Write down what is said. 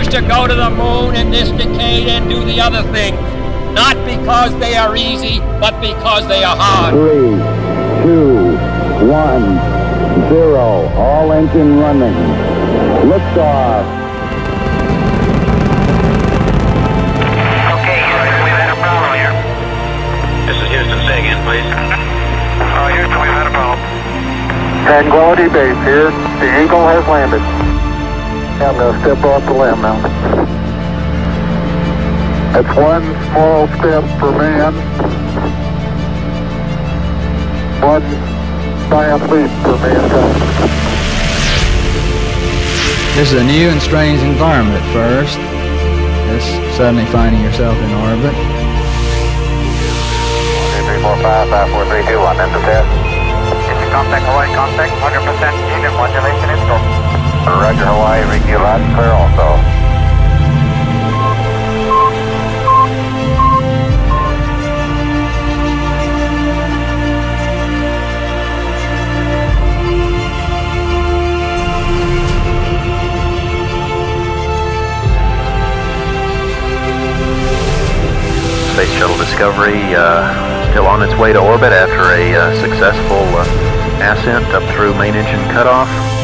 to go to the moon in this decade and do the other thing. Not because they are easy, but because they are hard. 3, 2, 1, 0. All engine running. Liftoff. Okay, Houston, we've had a problem here. This is Houston. Say again, please. Houston, we've had a problem. Tranquility Base here. The Eagle has landed. I'm going to step off the limb now. That's one small step for man, one giant leap for mankind. This is a new and strange environment at first. Just suddenly finding yourself in orbit. 1, 2, 3, 4, 5, 5, 4, 3, 2, 1, end of test. Contact Hawaii, contact 100% unit modulation is go. Roger Hawaii, read you loud and clear also. Space Shuttle Discovery still on its way to orbit after a successful ascent up through main engine cutoff.